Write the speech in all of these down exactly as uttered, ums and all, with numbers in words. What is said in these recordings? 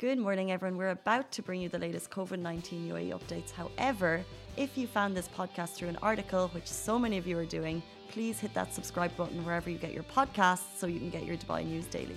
Good morning, everyone. We're about to bring you the latest COVID nineteen U A E updates. However, if you found this podcast through an article, which so many of you are doing, please hit that subscribe button wherever you get your podcasts so you can get your Dubai news daily.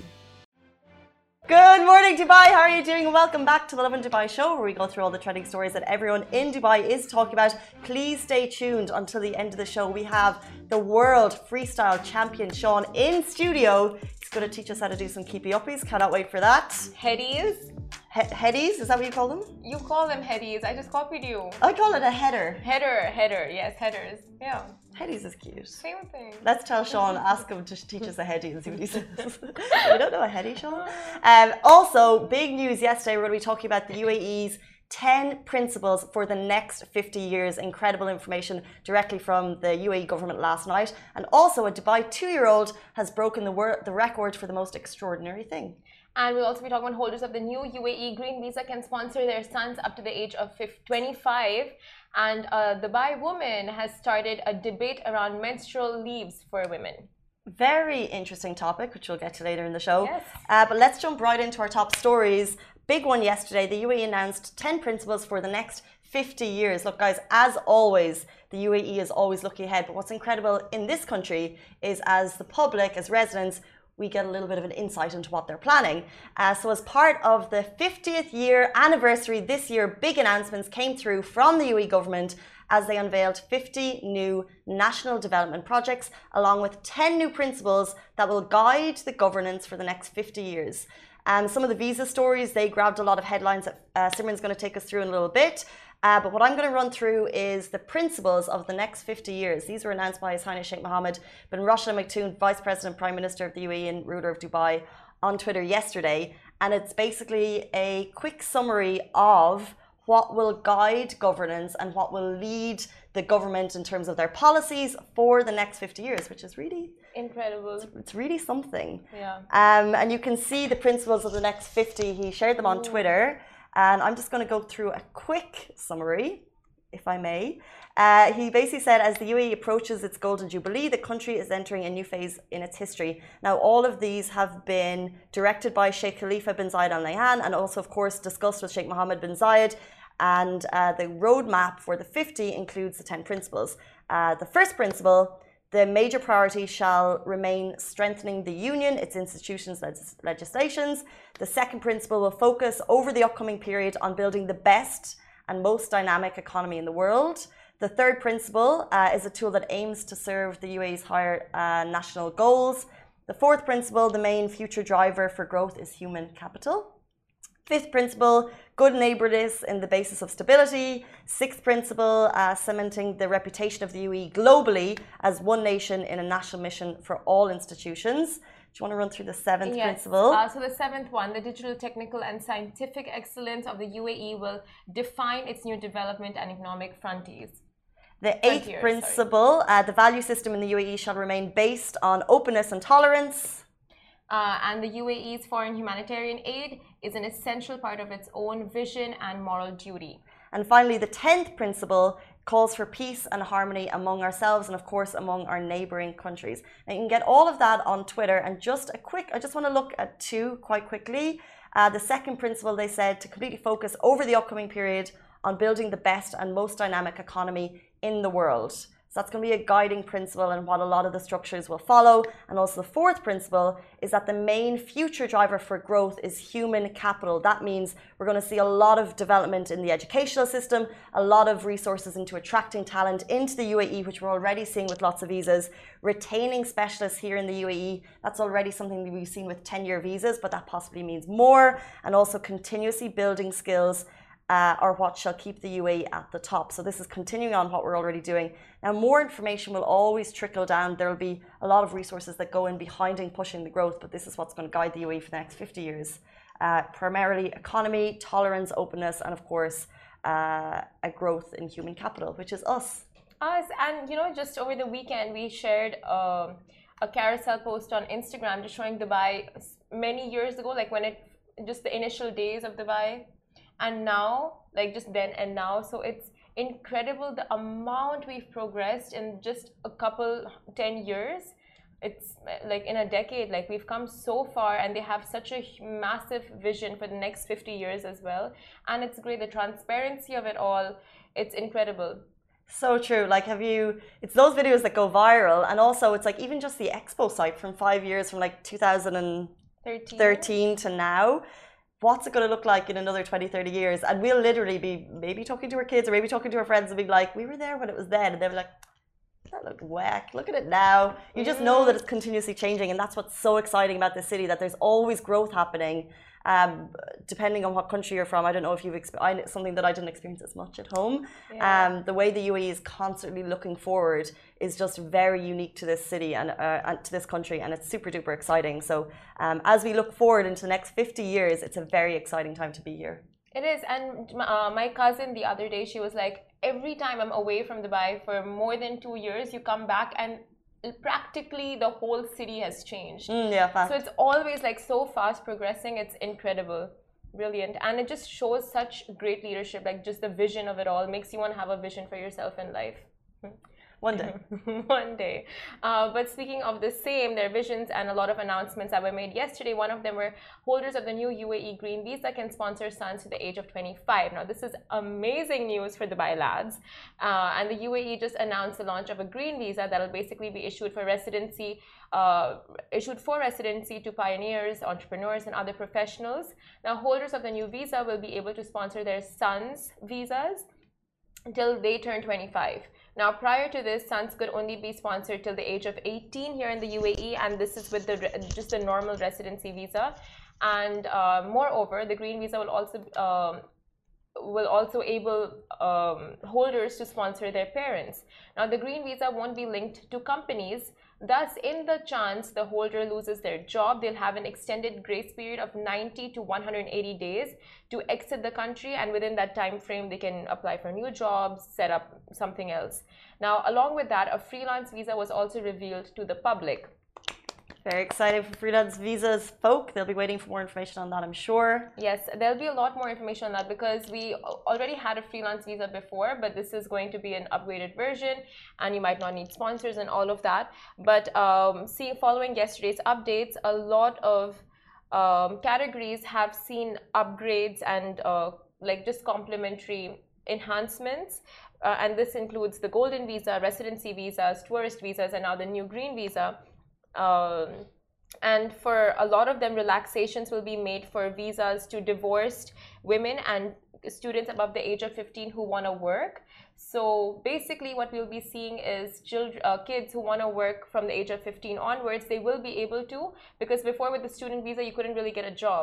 Good morning, Dubai. How are you doing? Welcome back to the Lovin Dubai show, where we go through all the trending stories that everyone in Dubai is talking about. Please stay tuned until the end of the show. We have the world freestyle champion, Sean, in studio. He's going to teach us how to do some keepy uppies. Cannot wait for that. Headies? He- headies? Is that what you call them? You call them headies. I just copied you. I call it a header. Header, header. Yes, headers. Yeah. Headies is cute. Same thing. Let's tell Sean, ask him to teach us a heady and see what he says. We don't know a heady, Sean. Um, also, big news yesterday, we're going to be talking about the U A E's ten principles for the next fifty years. Incredible information directly from the U A E government last night. And also, a Dubai two-year-old has broken the, wor- the record for the most extraordinary thing. And we'll also be talking about holders of the new U A E Green Visa can sponsor their sons up to the age of twenty-five. And a Dubai woman has started a debate around menstrual leaves for women. Very interesting topic, which we'll get to later in the show. Yes. Uh, but let's jump right into our top stories. Big one yesterday, the U A E announced ten principles for the next fifty years. Look, guys, as always, the U A E is always looking ahead. But what's incredible in this country is, as the public, as residents, we get a little bit of an insight into what they're planning. Uh, so as part of the fiftieth year anniversary this year, big announcements came through from the U A E government as they unveiled fifty new national development projects, along with ten new principles that will guide the governance for the next fifty years. Um, some of the visa stories, they grabbed a lot of headlines that uh, Simran's going to take us through in a little bit. Uh, but what I'm going to run through is the principles of the next fifty years. These were announced by His Highness Sheikh Mohammed bin Rashid Al Maktoum, Vice President, Prime Minister of the U A E and ruler of Dubai, on Twitter yesterday. And it's basically a quick summary of what will guide governance and what will lead the government in terms of their policies for the next fifty years, which is really incredible. It's, it's really something. Yeah. Um, and you can see the principles of the next fifty. He shared them on Ooh. Twitter. And I'm just going to go through a quick summary, if I may. Uh, he basically said, as the U A E approaches its Golden Jubilee, the country is entering a new phase in its history. Now, all of these have been directed by Sheikh Khalifa bin Zayed Al Nahyan and also, of course, discussed with Sheikh Mohammed bin Zayed. And uh, the roadmap for the fifty includes the ten principles. Uh, the first principle, the major priority shall remain strengthening the union, its institutions, legis- legislations. The second principle will focus over the upcoming period on building the best and most dynamic economy in the world. The third principle uh, is a tool that aims to serve the U A E's higher uh, national goals. The fourth principle, the main future driver for growth, is human capital. Fifth principle, good neighbourliness in the basis of stability. Sixth principle, uh, cementing the reputation of the U A E globally as one nation in a national mission for all institutions. Do you want to run through the seventh yes. principle? Uh, so the seventh one, the digital, technical and scientific excellence of the U A E will define its new development and economic frontiers. The eighth Frontiers, principle, uh, the value system in the U A E shall remain based on openness and tolerance. Uh, and the U A E's foreign humanitarian aid is an essential part of its own vision and moral duty. And finally, the tenth principle calls for peace and harmony among ourselves and, of course, among our neighbouring countries. Now, you can get all of that on Twitter. And just a quick, I just want to look at two quite quickly. Uh, the second principle, they said, to completely focus over the upcoming period on building the best and most dynamic economy in the world. So that's going to be a guiding principle and what a lot of the structures will follow. And also the fourth principle is that the main future driver for growth is human capital. That means we're going to see a lot of development in the educational system, a lot of resources into attracting talent into the U A E, which we're already seeing with lots of visas, retaining specialists here in the U A E. That's already something that we've seen with ten-year visas, but that possibly means more. And also continuously building skills Uh, or what shall keep the U A E at the top. So this is continuing on what we're already doing. Now, more information will always trickle down. There will be a lot of resources that go in behind and pushing the growth, but this is what's going to guide the U A E for the next fifty years. Uh, primarily economy, tolerance, openness, and of course, uh, a growth in human capital, which is us. Us, and you know, just over the weekend, we shared um, a carousel post on Instagram just showing Dubai many years ago, like when it, just the initial days of Dubai. And now, like just then and now, so it's incredible the amount we've progressed in just a couple, ten years. it's like in a decade, like we've come so far, and they have such a massive vision for the next fifty years as well. And it's great, the transparency of it all, it's incredible. So true. Like, have you, it's those videos that go viral, and also it's like even just the expo site from five years, from like two thousand thirteen to now. What's it going to look like in another twenty, thirty years? And we'll literally be maybe talking to our kids or maybe talking to our friends and be like, we were there when it was then. And they'll be like, that looked whack. Look at it now. You just know that it's continuously changing. And that's what's so exciting about this city, that there's always growth happening. Um, depending on what country you're from. I don't know if you've experienced something that I didn't experience as much at home. Yeah. Um, the way the U A E is constantly looking forward is just very unique to this city and, uh, and to this country, and it's super duper exciting. So um, as we look forward into the next fifty years, it's a very exciting time to be here. It is. And uh, my cousin the other day, she was like, every time I'm away from Dubai for more than two years, you come back and practically the whole city has changed. Mm, yeah, fast. So it's always like so fast progressing. It's incredible, brilliant, and it just shows such great leadership. Like just the vision of it all makes you want to have a vision for yourself in life. One day. One day. Uh, but speaking of the same, their visions and a lot of announcements that were made yesterday. One of them were holders of the new U A E Green Visa can sponsor sons to the age of twenty-five. Now, this is amazing news for Dubai lads. Uh, and the U A E just announced the launch of a green visa that will basically be issued for residency, uh, issued for residency to pioneers, entrepreneurs, and other professionals. Now, holders of the new visa will be able to sponsor their sons' visas until they turn twenty-five. Now, prior to this, sons could only be sponsored till the age of eighteen here in the U A E, and this is with the just a normal residency visa. And uh, moreover, the green visa will also um, will also able um, holders to sponsor their parents. Now, the green visa won't be linked to companies. Thus, in the chance the holder loses their job, they'll have an extended grace period of ninety to one hundred eighty days to exit the country, and within that time frame, they can apply for new jobs, set up something else. Now, along with that, a freelance visa was also revealed to the public. Very exciting for freelance visas, folk. They'll be waiting for more information on that, I'm sure. Yes, there'll be a lot more information on that because we already had a freelance visa before, but this is going to be an upgraded version, and you might not need sponsors and all of that. But um, see, following yesterday's updates, a lot of um, categories have seen upgrades and uh, like just complimentary enhancements. Uh, and this includes the golden visa, residency visas, tourist visas, and now the new green visa. Um, and for a lot of them, relaxations will be made for visas to divorced women and students above the age of fifteen who want to work. So basically what we'll be seeing is children, uh, kids who want to work from the age of fifteen onwards, they will be able to, because before with the student visa, you couldn't really get a job.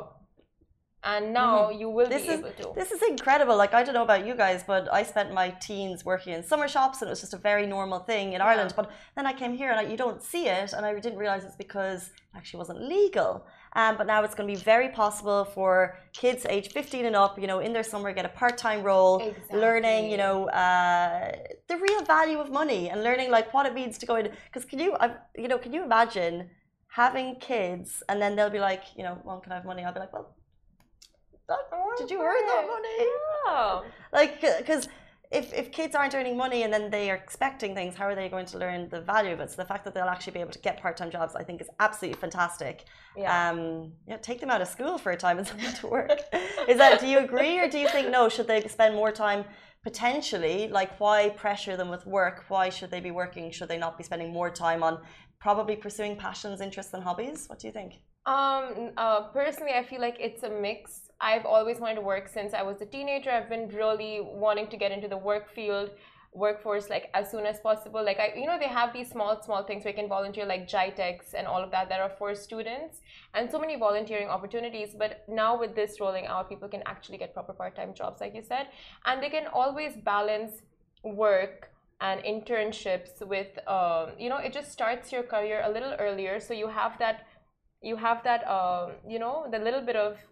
And now mm-hmm. you will this be is, able to. This is incredible. Like, I don't know about you guys, but I spent my teens working in summer shops, and it was just a very normal thing in Ireland. Yeah. But then I came here and I, you don't see it, and I didn't realize it's because it actually wasn't legal. Um, but now it's going to be very possible for kids age fifteen and up, you know, in their summer, get a part-time role, exactly. learning, you know, uh, the real value of money and learning like what it means to go in. Because can you, uh, you know, can you imagine having kids and then they'll be like, you know, Mom, can I have money? I'll be like, well, That, did you earn that money? Oh. Like, because if, if kids aren't earning money and then they are expecting things, how are they going to learn the value of it? So the fact that they'll actually be able to get part-time jobs, I think, is absolutely fantastic. Yeah. Um, yeah, take them out of school for a time and send them to work. Is that? Do you agree, or do you think no? Should they spend more time? Potentially, like, why pressure them with work? Why should they be working? Should they not be spending more time on probably pursuing passions, interests, and hobbies? What do you think? Um, uh, personally, I feel like it's a mix. I've always wanted to work since I was a teenager. I've been really wanting to get into the work field, workforce, like as soon as possible. Like, I, you know, they have these small, small things where you can volunteer, like GITEX and all of that, that are for students, and so many volunteering opportunities. But now with this rolling out, people can actually get proper part-time jobs, like you said, and they can always balance work and internships with, um, you know, it just starts your career a little earlier. So you have that, you have that, um, you know, the little bit of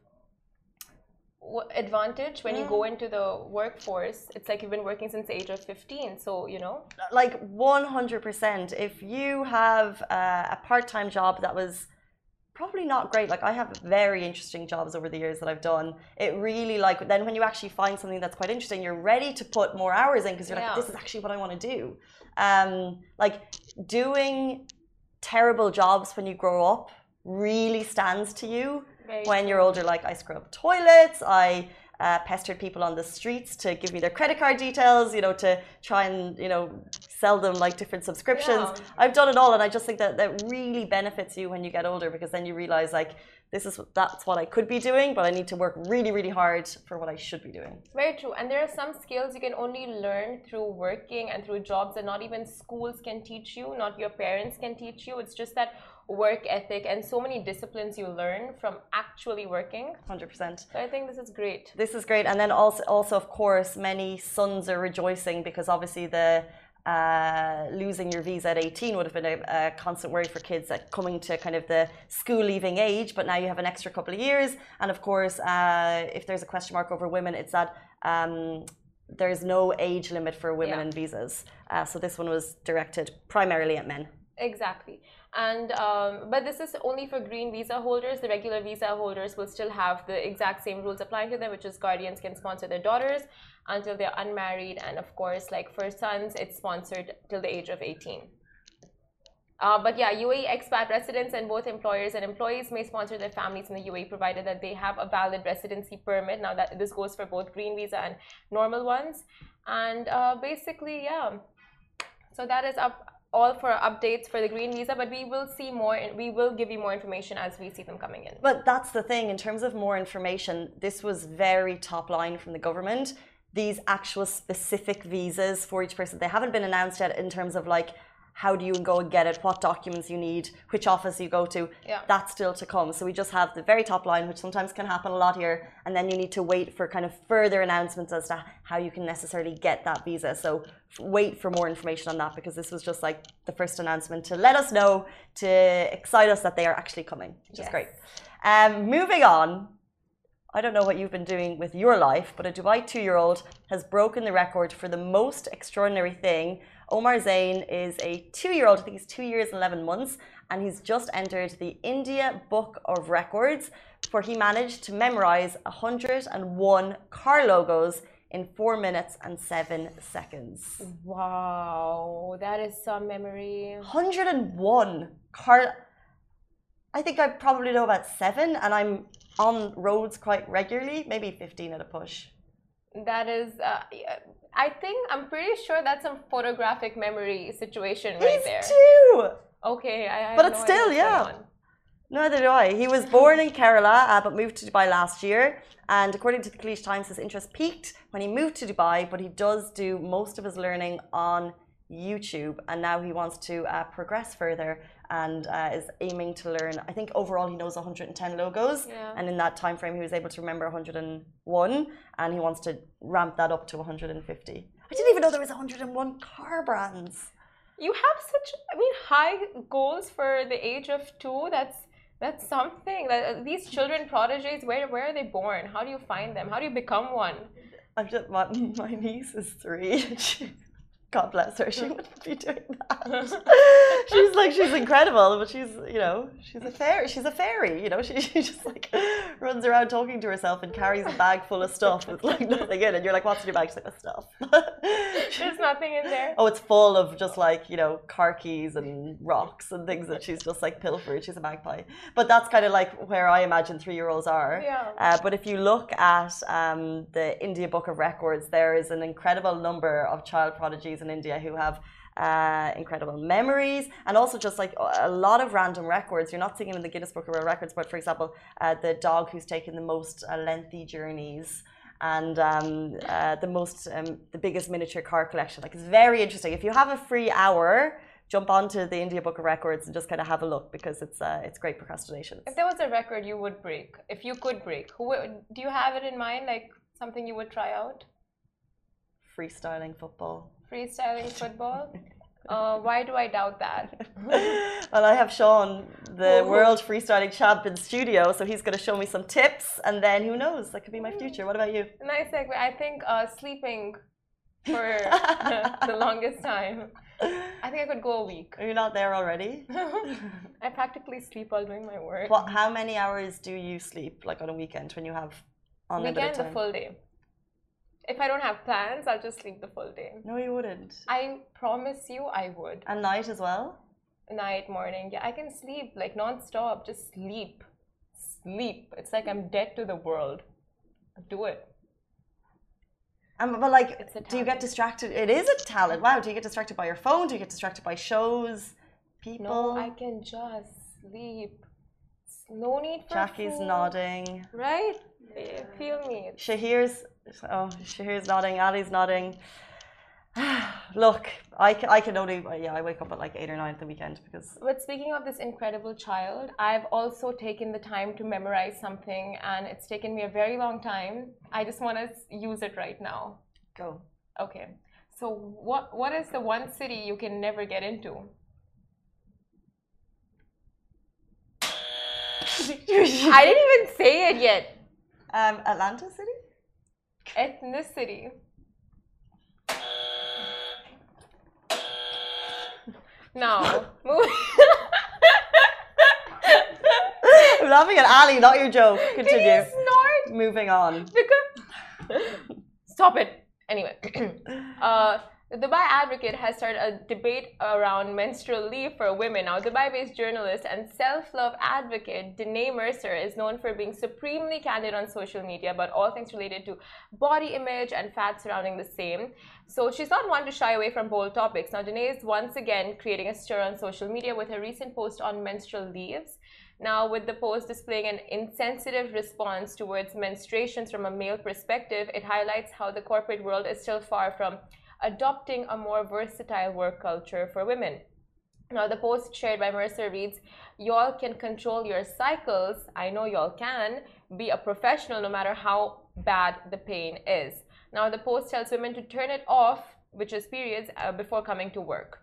advantage when mm. you go into the workforce. It's like you've been working since the age of fifteen, so you know, like one hundred percent. If you have uh, a part-time job that was probably not great, like I have very interesting jobs over the years that I've done, it really, like, then when you actually find something that's quite interesting, you're ready to put more hours in because you're yeah. like, this is actually what I want to do. Um, like doing terrible jobs when you grow up really stands to you. Very when true. you're older. Like, I scrub toilets, I uh, pestered people on the streets to give me their credit card details, you know, to try and, you know, sell them like different subscriptions. Yeah. I've done it all, and I just think that that really benefits you when you get older, because then you realize, like, this is that's what I could be doing, but I need to work really, really hard for what I should be doing. Very true. And there are some skills you can only learn through working and through jobs that not even schools can teach you, not your parents can teach you. It's just that work ethic and so many disciplines you learn from actually working. one hundred percent. So I think this is great. This is great. And then also, also of course, many sons are rejoicing because obviously the uh, losing your visa at eighteen would have been a, a constant worry for kids at coming to kind of the school leaving age, but now you have an extra couple of years. And of course, uh, if there's a question mark over women, it's that um, there's no age limit for women Yeah. in visas. Uh, so this one was directed primarily at men. Exactly. And um, but this is only for green visa holders. The regular visa holders will still have the exact same rules applying to them, which is guardians can sponsor their daughters until they're unmarried, and of course, like for sons, it's sponsored till the age of eighteen. Uh, but yeah, U A E expat residents and both employers and employees may sponsor their families in the U A E provided that they have a valid residency permit. Now that this goes for both green visa and normal ones. And uh, basically, yeah. So that is up all for updates for the green visa, but we will see more and we will give you more information as we see them coming in. But that's the thing, in terms of more information, this was very top line from the government. These actual specific visas for each person, they haven't been announced yet in terms of like, how do you go and get it, what documents you need, which office you go to. Yeah. That's still to come. So we just have the very top line, which sometimes can happen a lot here, and then you need to wait for kind of further announcements as to how you can necessarily get that visa. So wait for more information on that, because this was just like the first announcement to let us know, to excite us that they are actually coming, which Yes. is great. Um, moving on. I don't know what you've been doing with your life, but a Dubai two-year-old has broken the record for the most extraordinary thing. Omar Zain is a two-year-old, I think he's two years and eleven months, and he's just entered the India Book of Records, where he managed to memorize one hundred and one car logos in four minutes and seven seconds. Wow, that is some memory. one hundred and one car. I think I probably know about seven, and I'm on roads quite regularly, maybe fifteen at a push. That is, uh, I think, I'm pretty sure that's some photographic memory situation right He's there. two! Okay, I, I But have it's no still, idea what's yeah. going on. Neither do I. He was born in Kerala, uh, but moved to Dubai last year. And according to the Khaleej Times, his interest peaked when he moved to Dubai, but he does do most of his learning on YouTube. And now he wants to uh, progress further and uh, is aiming to learn. I think overall he knows one hundred and ten logos. Yeah. And in that time frame, he was able to remember one hundred and one. And he wants to ramp that up to one hundred and fifty. I didn't even know there was one hundred and one car brands. You have such, I mean, high goals for the age of two. That's that's something. That these children prodigies, where where are they born? How do you find them? How do you become one? I'm just, my, my niece is three. She, God bless her. She wouldn't be doing that. She's like, she's incredible, but she's, you know, she's a fairy. She's a fairy. You know, she, she just like runs around talking to herself and carries a bag full of stuff with like nothing in. And you're like, what's in your bag? She's like, "With stuff." There's nothing in there. Oh, it's full of just like, you know, car keys and rocks and things that she's just like pilfered. She's a magpie. But that's kind of like where I imagine three-year-olds are. Yeah. Uh, but if you look at um, the India Book of Records, there is an incredible number of child prodigies in India who have uh, incredible memories, and also just like a lot of random records. You're not seeing them in the Guinness Book of World Records, but for example, uh, the dog who's taken the most uh, lengthy journeys, and um, uh, the most, um, the biggest miniature car collection. Like, it's very interesting. If you have a free hour, jump onto the India Book of Records and just kind of have a look, because it's uh, it's great procrastination. If there was a record you would break, if you could break, who would, do you have it in mind? Like something you would try out? Freestyling football. Freestyling football? Uh, why do I doubt that? Well, I have Sean, the Ooh. world freestyling champ, in studio, so he's going to show me some tips, and then who knows, that could be my future. What about you? Nice segue. I think uh, sleeping for the longest time. I think I could go a week. Are you not there already? I practically sleep while doing my work. What? How many hours do you sleep, like on a weekend, when you have unlimited Weekend, time? the full day. If I don't have plans, I'll just sleep the full day. No, you wouldn't. I promise you I would. And night as well? night, morning. Yeah, I can sleep like non-stop, just sleep. Sleep. It's like I'm dead to the world. Do it. Um, but like, It's a do you get talent. distracted? It is a talent. Wow. Do you get distracted by your phone? Do you get distracted by shows, people? No, I can just sleep. No need for Jackie's food. nodding. Right? Yeah, feel me. Shahir's, oh, Shahir's nodding. Ali's nodding. Look, I, ca- I can only, yeah, I wake up at like eight or nine at the weekend because. But speaking of this incredible child, I've also taken the time to memorize something, and it's taken me a very long time. I just want to use it right now. Go. Okay. So what what is the one city you can never get into? I didn't even say it yet. Um, Atlanta City? Ethnicity. Now, moving. I'm laughing at Ali, not your joke. Continue. Can you snort? Moving on. Because stop it. Anyway, uh, the Dubai Advocate has started a debate around menstrual leave for women. Now, Dubai-based journalist and self-love advocate Danae Mercer is known for being supremely candid on social media about all things related to body image and fat surrounding the same. So she's not one to shy away from bold topics. Now, Danae is once again creating a stir on social media with her recent post on menstrual leaves. Now, with the post displaying an insensitive response towards menstruations from a male perspective, it highlights how the corporate world is still far from adopting a more versatile work culture for women. Now, the post shared by Mercer reads, "Y'all can control your cycles. I know y'all can. Be a professional no matter how bad the pain is." Now, the post tells women to turn it off, which is periods, uh, before coming to work.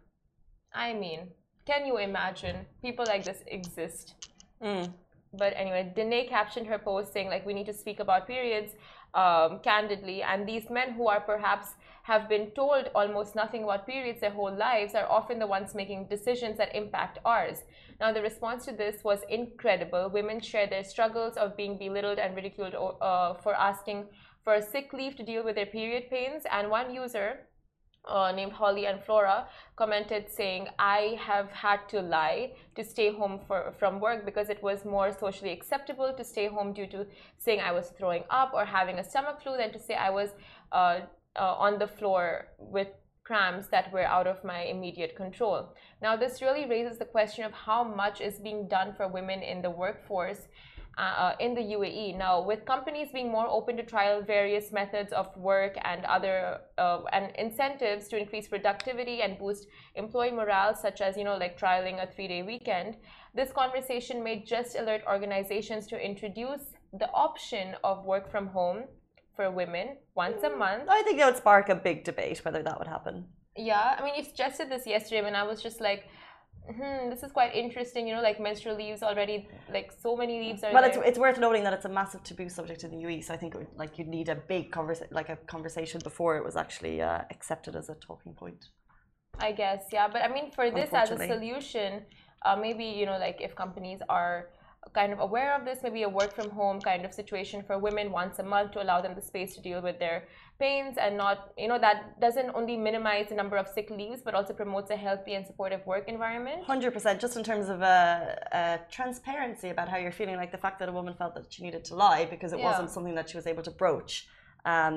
I mean, can you imagine people like this exist? Mm. But anyway, Danae captioned her post saying, like, we need to speak about periods um, candidly. And these men who are perhaps have been told almost nothing about periods their whole lives are often the ones making decisions that impact ours. Now, the response to this was incredible. Women shared their struggles of being belittled and ridiculed uh, for asking for a sick leave to deal with their period pains. And one user, Uh, named Holly and Flora, commented saying, "I have had to lie to stay home for, from work because it was more socially acceptable to stay home due to saying I was throwing up or having a stomach flu than to say I was uh, uh, on the floor with cramps that were out of my immediate control." Now, this really raises the question of how much is being done for women in the workforce Uh, in the U A E. Now, with companies being more open to trial various methods of work and other uh, and incentives to increase productivity and boost employee morale, such as, you know, like trialing a three-day weekend, this conversation may just alert organizations to introduce the option of work from home for women once a month. I think that would spark a big debate whether that would happen. Yeah, I mean, you suggested this yesterday when I was just like, Hmm, this is quite interesting, you know, like menstrual leaves already, like so many leaves are Well, there. it's, it's worth noting that it's a massive taboo subject in the U A E, so I think it would, like you'd need a big conversa- like a conversation before it was actually uh, accepted as a talking point. I guess, yeah. But I mean, for this as a Unfortunately. solution, uh, maybe, you know, like if companies are kind of aware of this, maybe a work from home kind of situation for women once a month to allow them the space to deal with their pains and not, you know, that doesn't only minimize the number of sick leaves, but also promotes a healthy and supportive work environment. one hundred percent, just in terms of uh, uh, transparency about how you're feeling, like the fact that a woman felt that she needed to lie because it Yeah. wasn't something that she was able to broach. Um,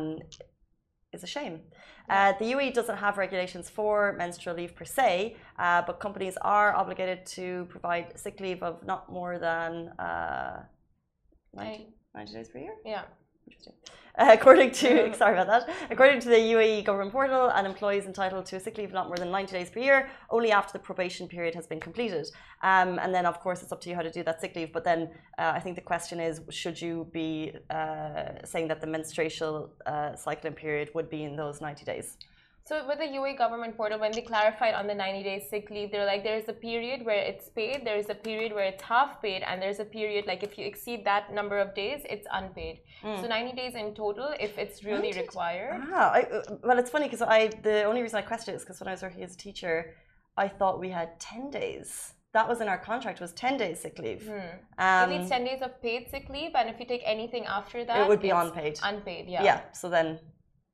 is a shame. Uh, the U A E doesn't have regulations for menstrual leave per se, uh, but companies are obligated to provide sick leave of not more than uh, ninety, ninety days per year. Yeah. Interesting. Uh, according to sorry about that. According to the U A E government portal, an employee is entitled to a sick leave not more than ninety days per year, only after the probation period has been completed. Um, and then, of course, it's up to you how to do that sick leave. But then, uh, I think the question is, should you be uh, saying that the menstrual uh, cycling period would be in those ninety days? So with the U A E government portal, when they clarified on the ninety days sick leave, they're like, there's a period where it's paid, there's a period where it's half paid, and there's a period, like if you exceed that number of days, it's unpaid. Mm. So ninety days in total, if it's really required. Ah, I, well, it's funny because I the only reason I questioned it is because when I was working as a teacher, I thought we had ten days. That was in our contract, was ten days sick leave. Hmm. Um, Maybe it's ten days of paid sick leave, and if you take anything after that, it would be unpaid. Unpaid, yeah. Yeah, so then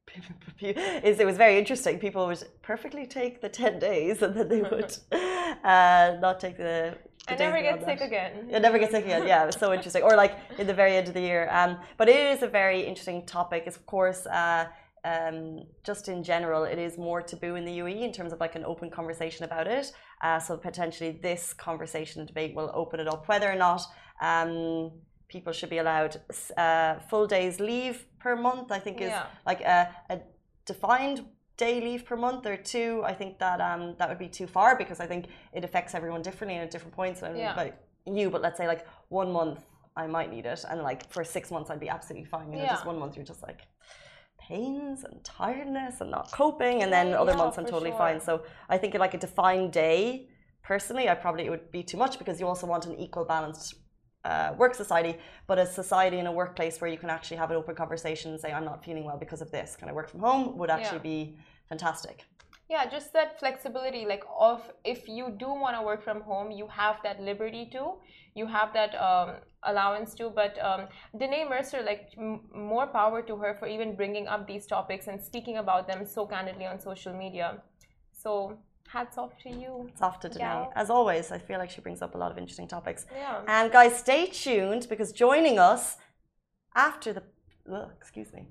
is it was very interesting. People would perfectly take the ten days and then they would uh, not take the. the I never get sick that. again. Yeah, never get sick again. Yeah, it was so interesting. Or like in the very end of the year. Um, but it is a very interesting topic. It's of course. Uh, Um, just in general, it is more taboo in the U A E in terms of like an open conversation about it. Uh, so potentially this conversation and debate will open it up. Whether or not um, people should be allowed uh, full days leave per month, I think is yeah. like a, a defined day leave per month or two. I think that um, that would be too far because I think it affects everyone differently and at different points. And yeah. like you, but let's say like one month I might need it, and like for six months I'd be absolutely fine. You know, yeah. just one month you're just like. Pains and tiredness and not coping, and then other yeah, months I'm totally sure. fine. So I think like a defined day, personally, I probably it would be too much because you also want an equal balanced uh, work society, but a society in a workplace where you can actually have an open conversation and say I'm not feeling well because of this. Can I work from home? Would actually yeah. be fantastic. Yeah, just that flexibility, like of if you do want to work from home, you have that liberty to, you have that um, allowance to. But um, Danae Mercer, like m more power to her for even bringing up these topics and speaking about them so candidly on social media. So hats off to you. It's off to Danae. Yeah. As always, I feel like she brings up a lot of interesting topics. Yeah. And guys, stay tuned because joining us after the Ugh, excuse me.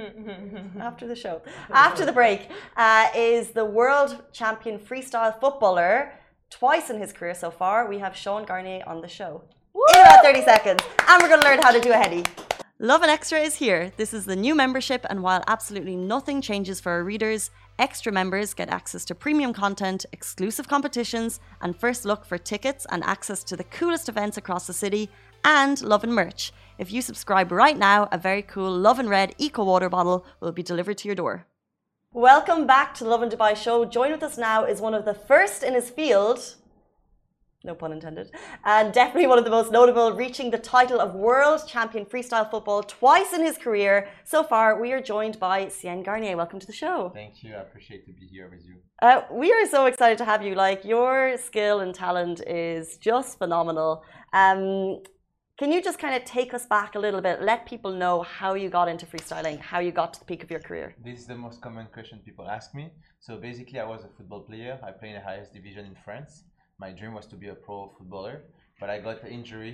After the show, after the break, uh, is the world champion freestyle footballer. Twice in his career so far, we have Sean Garnier on the show. Woo! In about thirty seconds, and we're going to learn how to do a heady. Lovin Extra is here. This is the new membership, and while absolutely nothing changes for our readers, extra members get access to premium content, exclusive competitions, and first look for tickets and access to the coolest events across the city, and Lovin merch. If you subscribe right now, a very cool Lovin Red Eco Water bottle will be delivered to your door. Welcome back to the Lovin Dubai show. Join with us now is one of the first in his field, no pun intended, and definitely one of the most notable, reaching the title of World Champion Freestyle Football twice in his career. So far, we are joined by Sean Garnier. Welcome to the show. Thank you. I appreciate to be here with you. Uh, we are so excited to have you. Like, your skill and talent is just phenomenal. Um, Can you just kind of take us back a little bit, let people know how you got into freestyling, how you got to the peak of your career? This is the most common question people ask me. So basically, I was a football player. I played in the highest division in France. My dream was to be a pro footballer, but I got an injury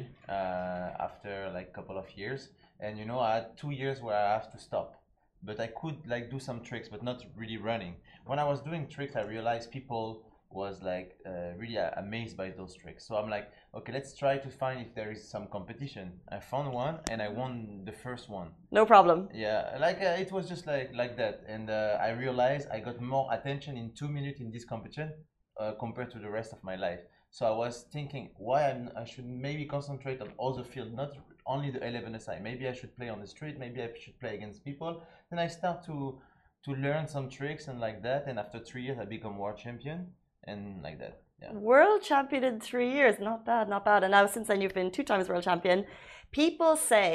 uh, after like a couple of years. And you know, I had two years where I have to stop. But I could like do some tricks, but not really running. When I was doing tricks, I realized people was like uh, really uh, amazed by those tricks. So I'm like, okay, let's try to find if there is some competition. I found one and I won the first one. No problem. Yeah, like uh, it was just like like that. And uh, I realized I got more attention in two minutes in this competition uh, compared to the rest of my life. So I was thinking why I'm, I should maybe concentrate on other field, not only the eleven S I. Maybe I should play on the street. Maybe I should play against people. Then I start to to learn some tricks and like that. And after three years, I become world champion. And like that, yeah. World champion in three years, not bad, not bad. And now since then you've been two times world champion. People say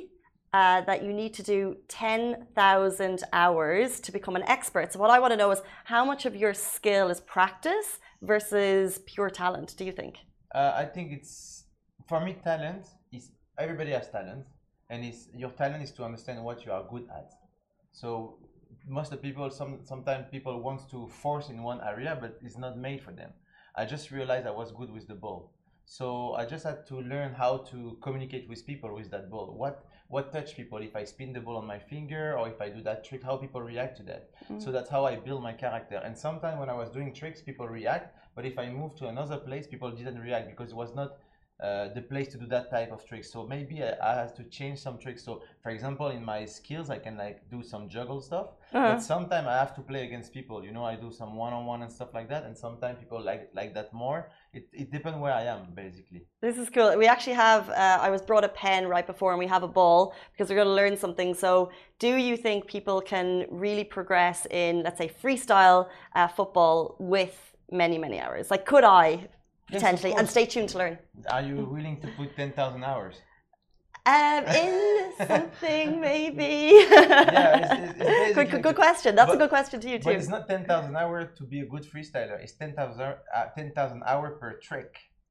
uh, that you need to do ten thousand hours to become an expert. So what I want to know is how much of your skill is practice versus pure talent, do you think? Uh, I think it's, for me, talent is, everybody has talent. And it's, your talent is to understand what you are good at. So most of the people, some, sometimes people want to force in one area, but it's not made for them. I just realized I was good with the ball. So I just had to learn how to communicate with people with that ball. What what touch people, if I spin the ball on my finger or if I do that trick, how people react to that. Mm-hmm. So that's how I build my character. And sometimes when I was doing tricks, people react, but if I move to another place, people didn't react because it was not uh, the place to do that type of tricks. So maybe I, I have to change some tricks. So for example, in my skills, I can like do some juggle stuff, uh-huh. but sometimes I have to play against people. You know, I do some one-on-one and stuff like that. And sometimes people like like that more. It, it depends where I am, basically. This is cool. We actually have, uh, I was brought a pen right before and we have a ball because we're going to learn something. So do you think people can really progress in, let's say, freestyle uh, football with many, many hours? Like, could I potentially? Yes, and stay tuned to learn. Are you willing to put ten thousand hours? Um, in something, maybe. Yeah, it's, it's good, good, good question. That's but, a good question to you too. But it's not ten thousand hours to be a good freestyler. It's ten thousand uh, ten thousand hours per trick.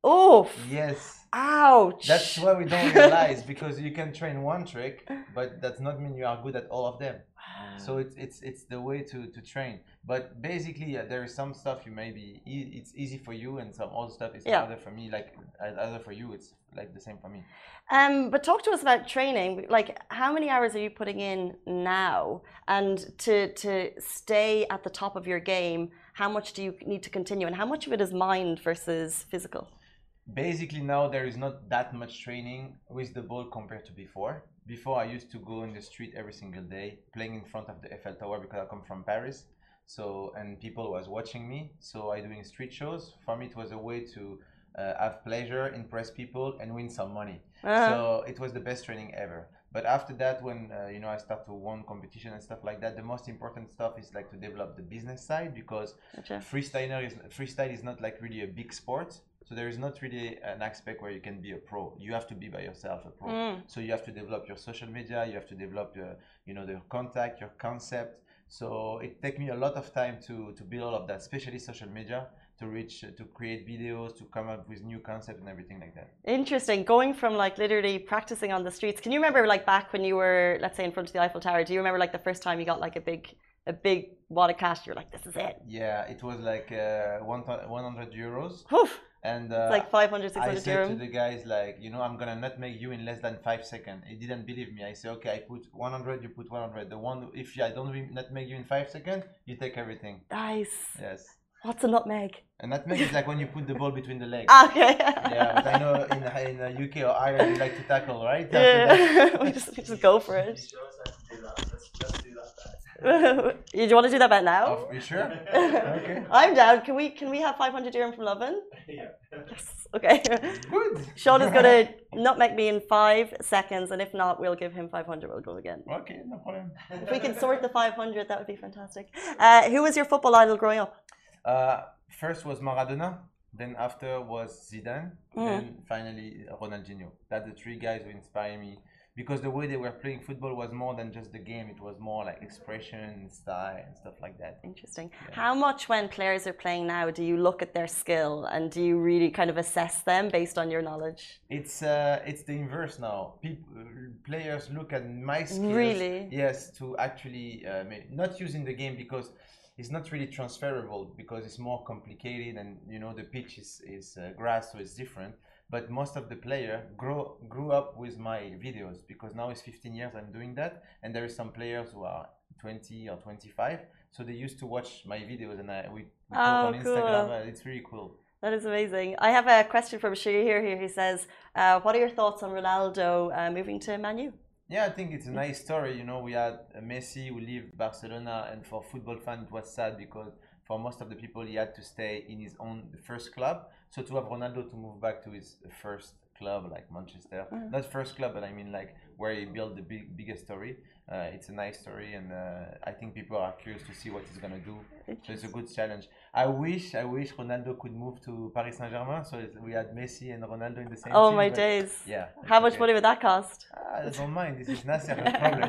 Oh, Yes. ouch. That's what we don't realize, because you can train one trick, but that's not mean you are good at all of them. So it's it's it's the way to to train. But basically, yeah, there is some stuff you maybe e- it's easy for you, and some other stuff is Yeah. harder for me. Like uh, other for you, it's like the same for me. Um, but talk to us about training. Like, how many hours are you putting in now? And to to stay at the top of your game, how much do you need to continue? And how much of it is mind versus physical? Basically, now there is not that much training with the ball compared to before. Before, I used to go in the street every single day, playing in front of the Eiffel Tower, because I come from Paris. So, and people was watching me. So I doing street shows. For me, it was a way to uh, have pleasure, impress people, and win some money. Uh-huh. So it was the best training ever. But after that, when uh, you know I start to win competition and stuff like that, the most important stuff is like to develop the business side, because Gotcha. freestyler is freestyle is not like really a big sport. So there is not really an aspect where you can be a pro. You have to be by yourself a pro. Mm. So you have to develop your social media. You have to develop your, you know, your contact, your concept. So it takes me a lot of time to to build all of that, especially social media, to reach, to create videos, to come up with new concepts and everything like that. Interesting. Going from like literally practicing on the streets. Can you remember like back when you were, let's say, in front of the Eiffel Tower? Do you remember like the first time you got like a big, a big wad of cash? You're like, this is it. Yeah, it was like uh, one one hundred euros. Oof. And uh, It's like five hundred, six I hundred said euro. to the guys, like, you know, I'm gonna not make you in less than five seconds. He didn't believe me. I said, okay, I put one hundred, you put one hundred. The one, if I don't re- not make you in five seconds, you take everything. Nice. Yes. What's a nutmeg? And nutmeg is like when you put the ball between the legs. Ah, okay. Yeah, but I know in in the U K or Ireland you like to tackle, right? After that. Yeah. we just we just go for it. Show us how to do that. Let's just do that then. you, do you want to do that bet now? Oh, you sure? Okay. I'm down. Can we can we have five hundred dirham from Lovin? Yeah. Yes. Okay. Good. Sean is going to nutmeg me in five seconds, and if not, we'll give him five hundred. We'll go again. Okay, no problem. If we can sort the five hundred, that would be fantastic. Uh, who was your football idol growing up? Uh, first was Maradona, then after was Zidane, Mm. then finally Ronaldinho. That's the three guys who inspire me, because the way they were playing football was more than just the game. It was more like expression, style, and stuff like that. Interesting. Yeah. How much, when players are playing now, do you look at their skill and do you really kind of assess them based on your knowledge? It's uh, it's the inverse now. People, players look at my skills. Really? Yes, to actually uh, ma- not using the game, because it's not really transferable, because it's more complicated, and you know the pitch is is uh, grass, so it's different. But most of the player grow grew up with my videos, because now it's fifteen years I'm doing that, and there is some players who are twenty or twenty-five, so they used to watch my videos, and I we, we Oh, talk on Instagram. cool. Uh, it's really cool. That is amazing. I have a question from Shahir here. He says, uh, what are your thoughts on Ronaldo uh, moving to Man U? Yeah, I think it's a nice story. You know, we had uh, Messi who lived Barcelona, and for football fan it was sad, because for most of the people he had to stay in his own first club. So to have Ronaldo to move back to his first club like Manchester, Mm. not first club, but I mean like where he built the big biggest story. Uh, it's a nice story, and uh, I think people are curious to see what he's gonna do. So it's a good challenge. I wish, I wish Ronaldo could move to Paris Saint-Germain, so it's, we had Messi and Ronaldo in the same Oh team. my but days. Yeah. How it's much okay. money would that cost? Ah, I don't mind. This is Nasser, no problem.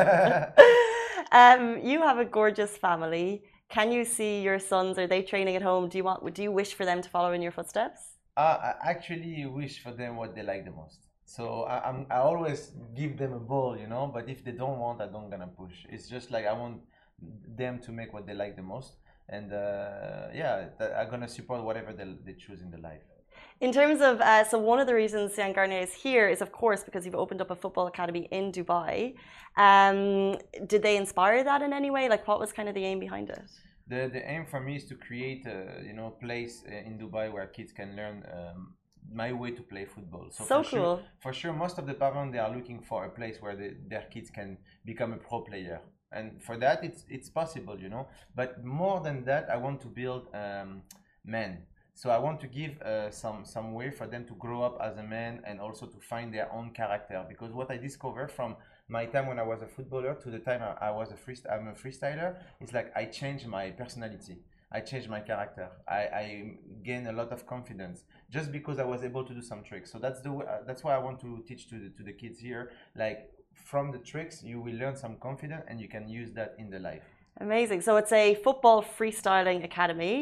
um, you have a gorgeous family. Can you see your sons? Are they training at home? Do you want? Do you wish for them to follow in your footsteps? Uh, I actually wish for them what they like the most. So I, I'm, I always give them a ball, you know. But if they don't want, I don't gonna push. It's just like I want them to make what they like the most, and uh, yeah, th- I'm gonna support whatever they, they choose in the life. In terms of, uh, so one of the reasons Sian Garnier is here is, of course, because you've opened up a football academy in Dubai. Um, did they inspire that in any way? Like, what was kind of the aim behind it? The the aim for me is to create a you know place uh, in Dubai where kids can learn um, my way to play football. So for cool. Sure, for sure, most of the parents, they are looking for a place where they, their kids can become a pro player, and for that it's it's possible, you know. But more than that, I want to build um, men. So I want to give uh, some some way for them to grow up as a man, and also to find their own character. Because what I discovered from my time when I was a footballer to the time I, I was a free, I'm a freestyler, it's like I changed my personality. I changed my character. I, I gained a lot of confidence just because I was able to do some tricks. So that's the way, uh, that's why I want to teach to the, to the kids here. Like from the tricks, you will learn some confidence, and you can use that in the life. Amazing. So it's a football freestyling academy.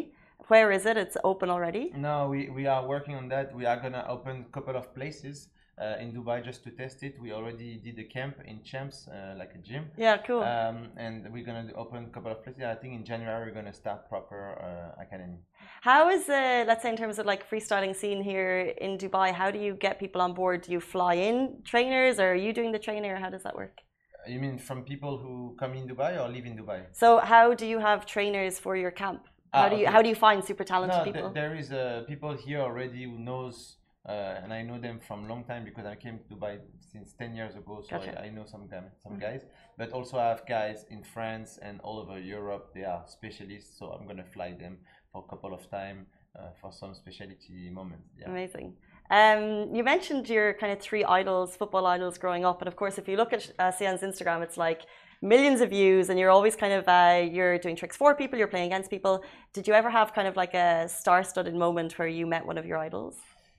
Where is it? It's open already? No, we, we are working on that. We are gonna open a couple of places uh, in Dubai just to test it. We already did a camp in Champs, uh, like a gym. Yeah, cool. Um, and we're gonna do- open a couple of places. I think in January we're gonna start proper uh, academy. How is the, let's say in terms of like freestyling scene here in Dubai, how do you get people on board? Do you fly in trainers or are you doing the training or how does that work? You mean from people who come in Dubai or live in Dubai? So how do you have trainers for your camp? How Ah, do you okay. how do you find super talented No, people? th- there is uh, people here already who knows, uh, and I know them from long time because I came to Dubai since ten years ago, so Gotcha. I, I know some guy, some guys. But also I have guys in France and all over Europe. They are specialists, so I'm gonna fly them for a couple of time uh, for some specialty moments. Yeah. Amazing. Um, you mentioned your kind of three idols, football idols growing up, and of course, if you look at uh, Sian's Instagram, it's like millions of views, and you're always kind of uh, you're doing tricks for people, you're playing against people. Did you ever have kind of like a star-studded moment where you met one of your idols?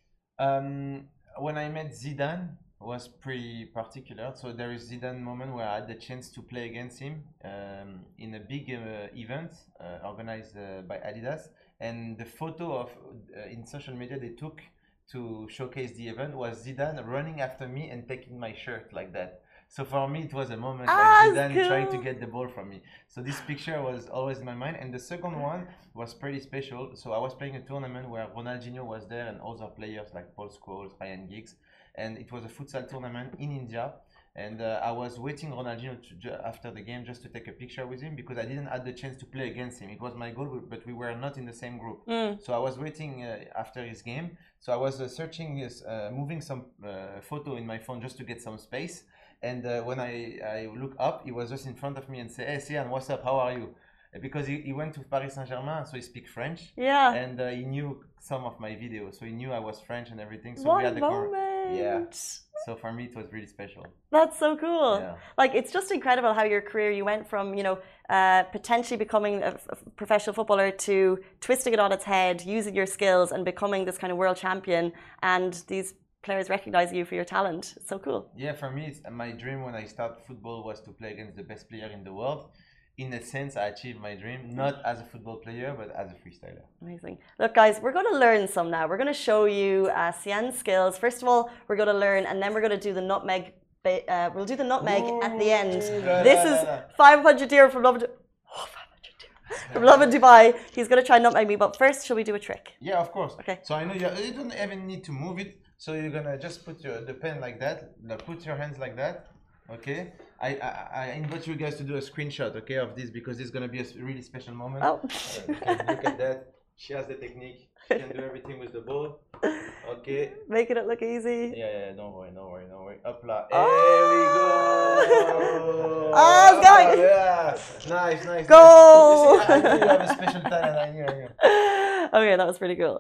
Um, when I met Zidane was pretty particular. So there is Zidane moment where I had the chance to play against him um, in a big uh, event uh, organized uh, by Adidas. And the photo of uh, in social media they took to showcase the event was Zidane running after me and taking my shirt like that. So for me, it was a moment Ah, like that's Zidane trying to cool. get the ball from me. So this picture was always in my mind. And the second one was pretty special. So I was playing a tournament where Ronaldinho was there and other players like Paul Scholes, Ryan Giggs. And it was a futsal tournament in India. And uh, I was waiting Ronaldinho to ju- after the game just to take a picture with him because I didn't have the chance to play against him. It was my goal, but we were not in the same group. Mm. So I was waiting uh, after his game. So I was uh, searching, his, uh, moving some uh, photo in my phone just to get some space. And uh, when I, I look up, he was just in front of me and say, "Hey, Sian, what's up? How are you?" Because he, he went to Paris Saint-Germain, so he speaks French. Yeah. And uh, he knew some of my videos, so he knew I was French and everything. So what we had a the con- moment. Yeah. So for me, it was really special. That's so cool. Yeah. Like, it's just incredible how your career, you went from, you know, uh, potentially becoming a, f- a professional footballer to twisting it on its head, using your skills and becoming this kind of world champion. And these players recognize you for your talent. It's so cool. Yeah, for me, it's, my dream when I started football was to play against the best player in the world. In a sense, I achieved my dream, not as a football player, but as a freestyler. Amazing. Look, guys, we're going to learn some now. We're going to show you uh, Sian's skills. First of all, we're going to learn, and then we're going to do the nutmeg. ba- Uh, we'll do the nutmeg at the end. la, This la, is la, la. five hundred dirham from Love, oh, five hundred dirham from Love in Dubai. He's going to try and nutmeg me, but first, shall we do a trick? Yeah, of course. Okay. So I know you, you don't even need to move it. So you're gonna just put your the pen like that. Like, put your hands like that. Okay. I, I I invite you guys to do a screenshot, okay, of this because this is gonna be a s- really special moment. Oh. Uh, okay, look at that. She has the technique. She can do everything with the ball. Okay. Making it look easy. Yeah, yeah, yeah, don't worry, don't worry, don't worry. Up la. Oh. There we go. Oh, it's going. Yeah. Nice, nice. Goal. Nice. You see, I knew you have a special talent. I knew, I knew. Okay, that was pretty cool.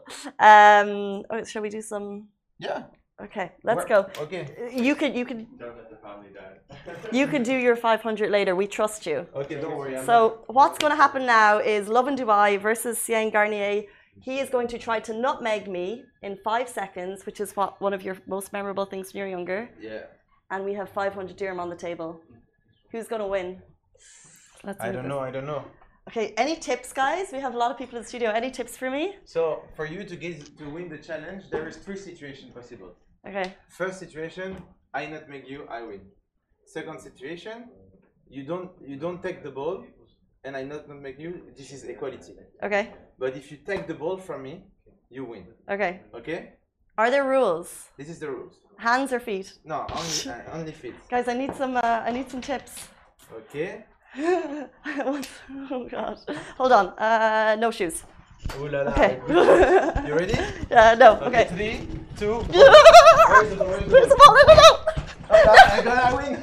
Um, oh, shall we do some? Yeah. Okay, let's Where- go. Okay. You could, you could, Don't let the family down. you could do your five hundred later. We trust you. Okay, don't worry. I'm So what's going to happen now is Love in Dubai versus Sian Garnier. He is going to try to nutmeg me in five seconds, which is what one of your most memorable things when you're younger. Yeah. And we have five hundred dirham on the table. Who's going to win? Let's I move don't this. know. I don't know. Okay, any tips, guys? We have a lot of people in the studio. Any tips for me? So for you to get to win the challenge, there is three situations possible. Okay. First situation, I nutmeg you, I win. Second situation, you don't you don't take the ball, and I not nutmeg you. This is equality. Okay. But if you take the ball from me, you win. Okay. Okay? Are there rules? This is the rules. Hands or feet? No, only uh, only feet. Guys, I need some. Uh, I need some tips. Okay. Oh god. Hold on. Uh, no shoes. Ooh la la. Okay. You ready? Uh, no. Okay. Three, two. One. Where's Where's the ball? Where's the the ball? No, no, no. I gotta win.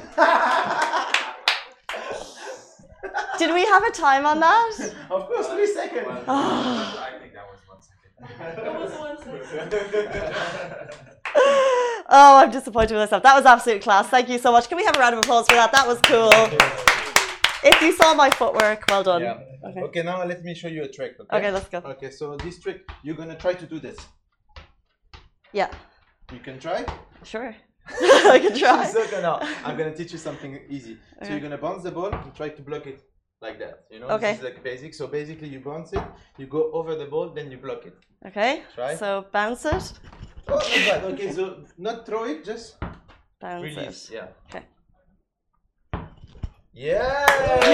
Did we have a time on that? Of course, three seconds. I think that was one second. It was one second. Oh, I'm disappointed with myself. That was absolute class. Thank you so much. Can we have a round of applause for that? That was cool. If you saw my footwork, well done. Yeah. Okay. Okay, now let me show you a trick. Okay. Okay, let's go. Okay, so this trick, you're gonna try to do this. Yeah. You can try. Sure. I can try. So gonna, I'm gonna teach you something easy. So Okay. you're gonna bounce the ball and try to block it. like that. You know, Okay. this is like basic. So basically, you bounce it, you go over the ball, then you block it. Okay. Try. So bounce it, Oh, not bad. Okay, so not throw it, just bounce release. it. Yeah. Okay. Yeah.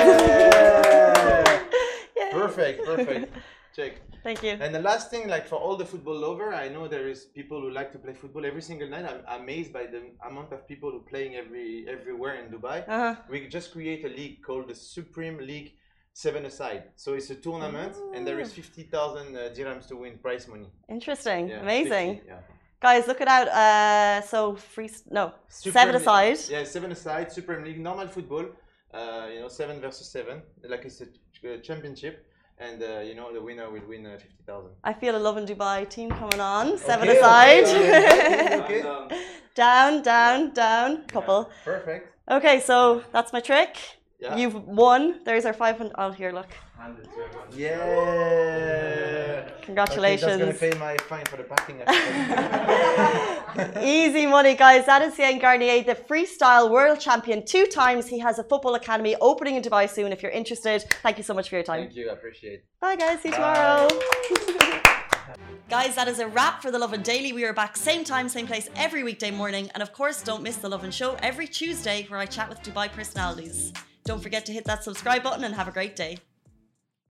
Yay. Perfect. Perfect. Check. Thank you. And the last thing, like for all the football lover, I know there is people who like to play football every single night. I'm amazed by the amount of people who playing every everywhere in Dubai. Uh-huh. We just create a league called the Supreme League Seven Aside. So it's a tournament, and there is fifty thousand uh, dirhams to win prize money. Interesting. Yeah, Amazing. fifty, yeah. Guys, look it out. Uh, so free, no, Supreme seven League- aside. Yeah, seven aside, Supreme League, normal football. Uh, you know, seven versus seven, like it's a ch- championship, and uh, you know the winner will win uh, fifty thousand. I feel a Love in Dubai team coming on. Seven Okay, aside. okay, okay. And, um, Down, down, down. Couple. Perfect. Okay, so that's my trick. Yeah. You've won. There's our five hundred. Oh, here, look. hand it to everyone. Yeah. Congratulations. Okay, that's gonna pay my fine for the parking. Easy money, guys. That is Cien Garnier, the freestyle world champion. Two times. He has a football academy opening in Dubai soon. If you're interested, thank you so much for your time. Thank you, I appreciate it. Bye, guys. See you tomorrow. Guys, that is a wrap for The Lovin Daily. We are back same time, same place every weekday morning. And of course, don't miss The Lovin Show every Tuesday where I chat with Dubai personalities. Don't forget to hit that subscribe button and have a great day.